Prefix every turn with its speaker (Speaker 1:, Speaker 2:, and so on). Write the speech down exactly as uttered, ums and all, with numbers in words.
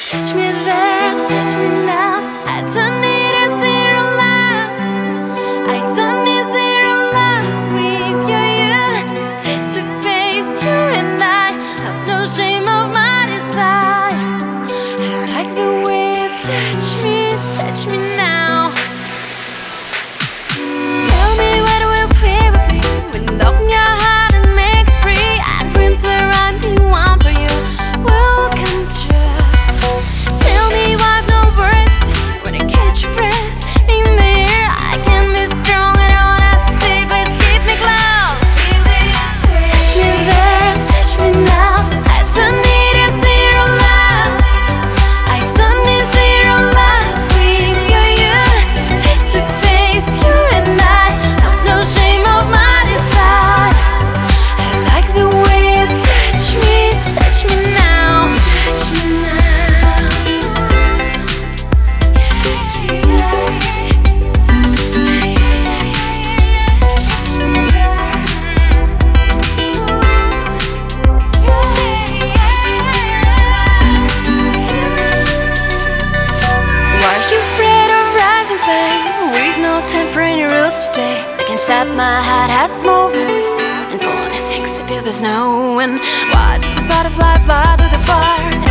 Speaker 1: Touch me there, touch me now. I don't need a zero love. I don't need zero love with you, you. Face to face, you and I have no shame of my desire. I like the way you touch me, touch me now. Tell me what will play with me when open your heart and make it free. And dreams where I'm the one for you will come true. Tell me what the words say when I catch your breath in the air. I can be strong and I wanna say, please keep me close. Touch me there, touch me now. I don't need a zero love. I don't need zero love with you, you. Face to face, you and I have no shame of my desire. I like the way you touch me, touch me now. Touch me now. Why are you afraid of rising flame? With no time for any rules today. They can stop my heart, heart's movement. And for the six of you there's no one. Why does a butterfly fly to the bar?